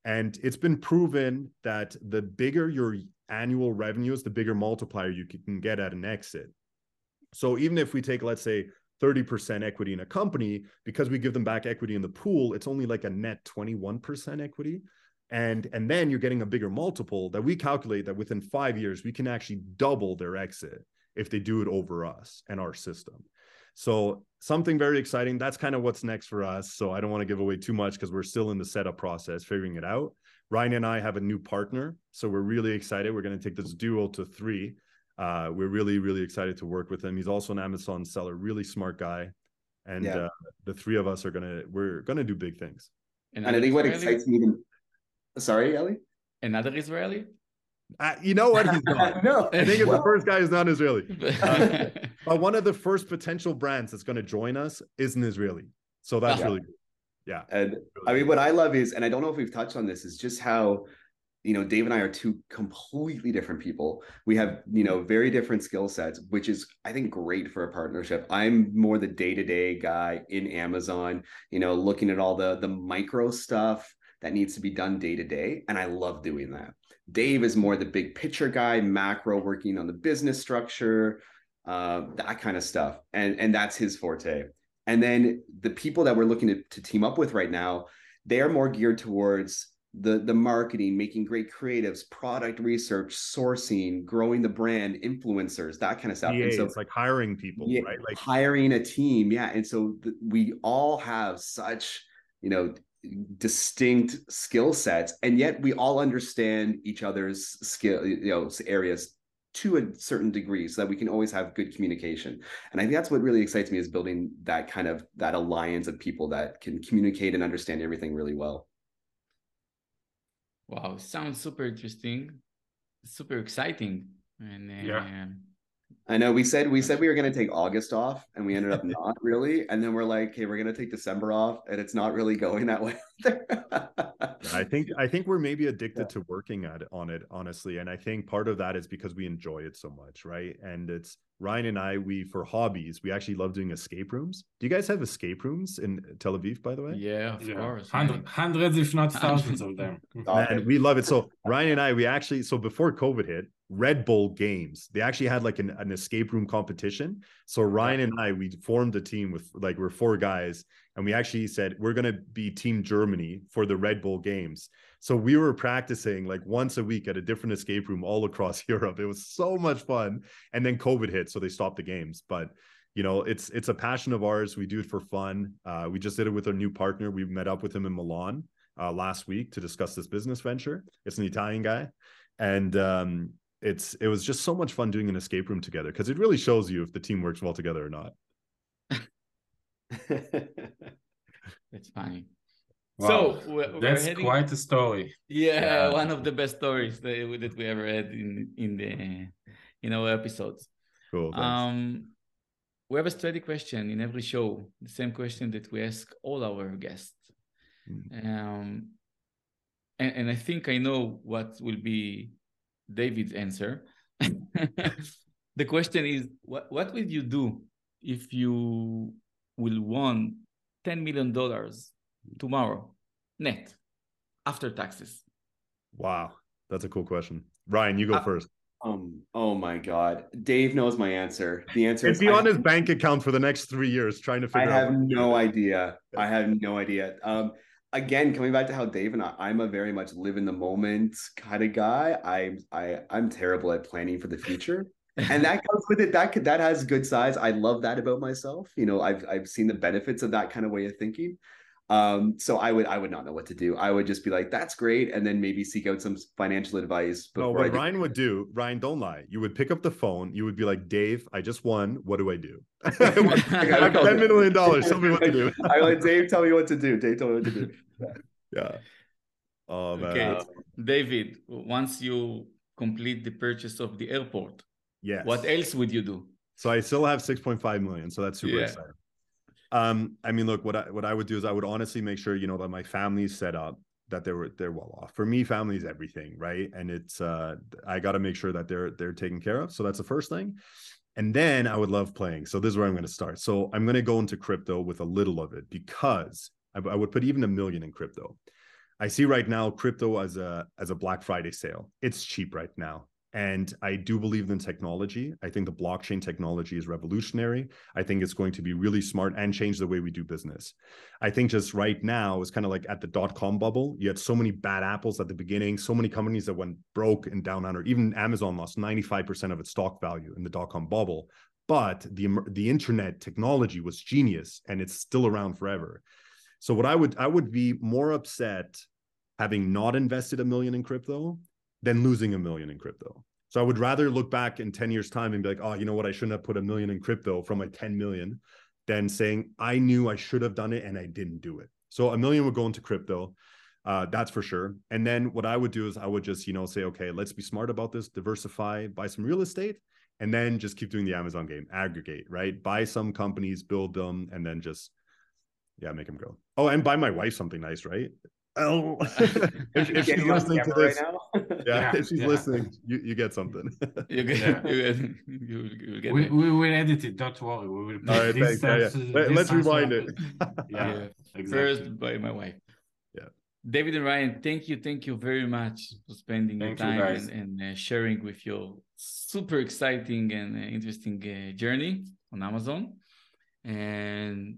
And it's been proven that the bigger your annual revenues, the bigger multiplier you can get at an exit. So even if we take, let's say, 30% equity in a company, because we give them back equity in the pool, it's only like a net 21% equity. And then you're getting a bigger multiple that we calculate that within 5 years, we can actually double their exit if they do it over us and our system. So something very exciting. That's kind of what's next for us. So I don't want to give away too much because we're still in the setup process, figuring it out. Ryan and I have a new partner. So we're really excited. We're going to take this duo to 3. We're really, really excited to work with him. He's also an Amazon seller, really smart guy. And the 3 of us we're going to do big things. And I think what excites me even... Sorry, Ellie? Another Israeli? You know what? He's not. No. I think the first guy is not Israeli. But one of the first potential brands that's going to join us is an Israeli. So that's really good. Yeah. And I mean, what I love is, and I don't know if we've touched on this, is just how, Dave and I are 2 completely different people. We have, very different skill sets, which is, I think, great for a partnership. I'm more the day-to-day guy in Amazon, looking at all the micro stuff that needs to be done day to day. And I love doing that. Dave is more the big picture guy, macro, working on the business structure, that kind of stuff. And that's his forte. And then the people that we're looking to team up with right now, they are more geared towards the marketing, making great creatives, product research, sourcing, growing the brand, influencers, that kind of stuff. Yeah, and so it's like hiring people, right? Like hiring a team. Yeah. And so we all have such, distinct skill sets, and yet we all understand each other's skill, areas to a certain degree, so that we can always have good communication. And I think that's what really excites me, is building that alliance of people that can communicate and understand everything really well. Wow, sounds super interesting, super exciting. And I know we said we were going to take August off, and we ended up not really. And then we're like, okay, we're going to take December off, and it's not really going that way. I think we're maybe addicted to working on it, honestly. And I think part of that is because we enjoy it so much, right? And it's Ryan and I, for hobbies, we actually love doing escape rooms. Do you guys have escape rooms in Tel Aviv, by the way? Yeah, of course. Hundreds, if not thousands of them. Man, we love it. So Ryan and I, so before COVID hit, Red Bull Games, they actually had like an escape room competition. So Ryan and I, we formed a team with we're 4 guys, and we actually said we're going to be Team Germany for the Red Bull Games. So we were practicing like once a week at a different escape room all across Europe. It was so much fun. And then COVID hit, so they stopped the games. But it's a passion of ours. We do it for fun. We just did it with our new partner. We met up with him in Milan last week to discuss this business venture. It's an Italian guy, and it was just so much fun doing an escape room together, because it really shows you if the team works well together or not. It's funny. Wow. So that's quite a story. Yeah, one of the best stories that we ever had in our episodes. Cool. Thanks. We have a steady question in every show, the same question that we ask all our guests. And I think I know what will be David's answer. The question is, what will you do if you will won $10 million tomorrow, net, after taxes? Wow, that's a cool question. Ryan, you go first. Oh my God, Dave knows my answer. The answer is be on his bank account for the next 3 years, trying to figure out. I have no idea. Again, coming back to how Dave and I'm a very much live in the moment kind of guy. I'm terrible at planning for the future, and that comes with it. That has good sides. I love that about myself. I've seen the benefits of that kind of way of thinking. So I would not know what to do. I would just be like, that's great, and then maybe seek out some financial advice. No, what Ryan would do, Ryan, don't lie. You would pick up the phone. You would be like, Dave, I just won. What do I do? I have $10 million. Tell me what to do. I like, Dave, tell me what to do. Dave, tell me what to do. Yeah. Oh man. Okay, David. Once you complete the purchase of the airport, what else would you do? So I still have 6.5 million. So that's super exciting. I mean, look, what I would do is I would honestly make sure, that my family's set up, that they're well off. For me, family is everything, right? And it's I got to make sure that they're taken care of. So that's the first thing. And then I would love playing. So this is where I'm going to start. So I'm going to go into crypto with a little of it, because I would put even $1 million in crypto. I see right now crypto as a Black Friday sale. It's cheap right now. And I do believe in technology. I think the blockchain technology is revolutionary. I think it's going to be really smart and change the way we do business. I think just right now, it's kind of like at the dot-com bubble. You had so many bad apples at the beginning, so many companies that went broke and down under. Even Amazon lost 95% of its stock value in the dot-com bubble. But the internet technology was genius, and it's still around forever. So what I would be more upset having not invested $1 million in crypto than losing $1 million in crypto. So I would rather look back in 10 years' time and be like, oh, you know what? I shouldn't have put $1 million in crypto from my 10 million than saying I knew I should have done it and I didn't do it. So $1 million would go into crypto. That's for sure. And then what I would do is I would just, say, okay, let's be smart about this, diversify, buy some real estate, and then just keep doing the Amazon game, aggregate, right? Buy some companies, build them, and then just, make them go. Oh, and buy my wife something nice, right? Oh, if she's listening to this, right if she's listening, you get something. You get we will edit it. Don't worry. We will. All right, thanks. Let's rewind it. Exactly. First by my wife. Yeah. David and Ryan, thank you very much for spending your time and sharing with your super exciting and interesting journey on Amazon. And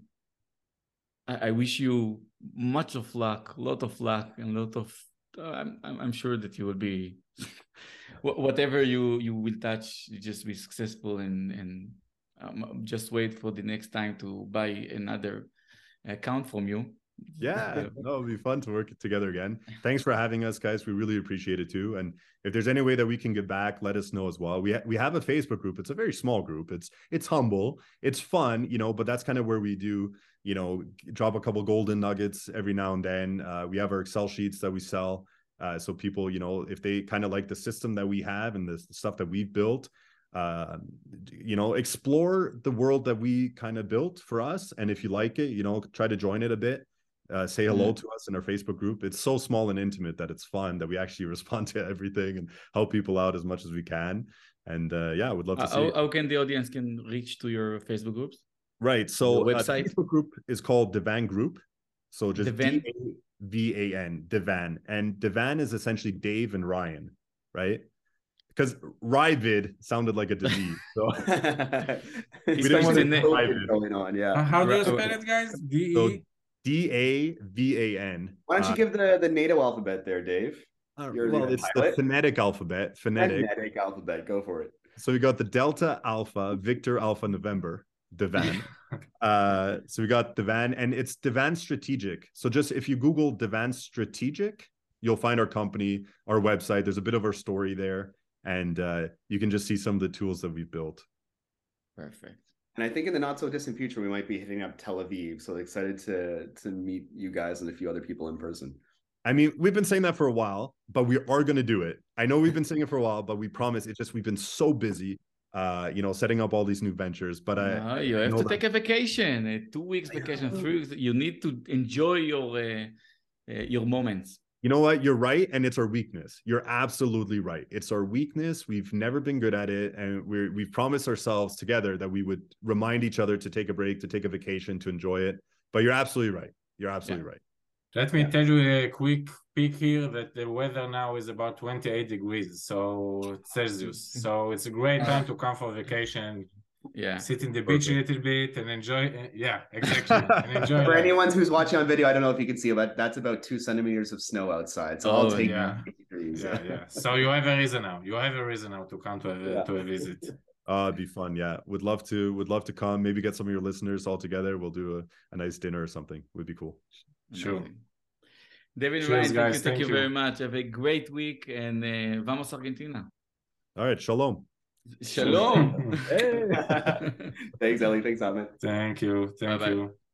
I wish you much of luck, a lot of luck, and a lot of. I'm sure that you will be, whatever you will touch, you just be successful, and just wait for the next time to buy another account from you. Yeah, no, it'll be fun to work together again. Thanks for having us, guys. We really appreciate it too. And if there's any way that we can give back, let us know as well. We have a Facebook group. It's a very small group. It's humble. It's fun, but that's kind of where we do, drop a couple golden nuggets every now and then. We have our Excel sheets that we sell. So people, if they kind of like the system that we have and the stuff that we've built, explore the world that we kind of built for us. And if you like it, try to join it a bit. Say hello to us in our Facebook group. It's so small and intimate that it's fun that we actually respond to everything and help people out as much as we can. And I would love to see how can the audience can reach to your Facebook groups? Right. So the website? The Facebook group is called Devan Group. So just DAVAN, Devan. And Devan is essentially Dave and Ryan, right? Because Ryvid sounded like a disease. So we didn't want to going on. Yeah. How do you spell it, guys? DAVAN. Why don't you give the NATO alphabet there, Dave? It's the phonetic alphabet. Phonetic alphabet. Go for it. So we got the Delta Alpha, Victor Alpha November, Devan. So we got Devan, and it's Devan Strategic. So just if you Google Devan Strategic, you'll find our company, our website. There's a bit of our story there, and you can just see some of the tools that we've built. Perfect. And I think in the not so distant future, we might be hitting up Tel Aviv. So excited to meet you guys and a few other people in person. I mean, we've been saying that for a while, but we are going to do it. I know we've been saying it for a while, but we promise. It's just we've been so busy, setting up all these new ventures. But you have to take a vacation, a 2 weeks vacation, 3 weeks. You need to enjoy your moments. You know what? You're right. And it's our weakness. You're absolutely right. It's our weakness. We've never been good at it. And we've promised ourselves together that we would remind each other to take a break, to take a vacation, to enjoy it. But you're absolutely right. You're absolutely right. Let me tell you a quick peek here that the weather now is about 28 degrees. So Celsius. So it's a great time to come for vacation. Yeah, sit in the beach a little bit and enjoy. Yeah, exactly. And enjoy. For anyone who's watching on video, I don't know if you can see, but that's about 2 centimeters of snow outside. So I'll take degrees. Yeah. So you have a reason now. You have a reason now to come to a visit. It'd be fun. Yeah, would love to come. Maybe get some of your listeners all together. We'll do a nice dinner or something. Would be cool. Sure. David and Ryan, thank you very much. Have a great week, and vamos Argentina. All right, shalom. Shalom. Thanks, Ellie. Thanks, Ahmed. Thank you. Thank you.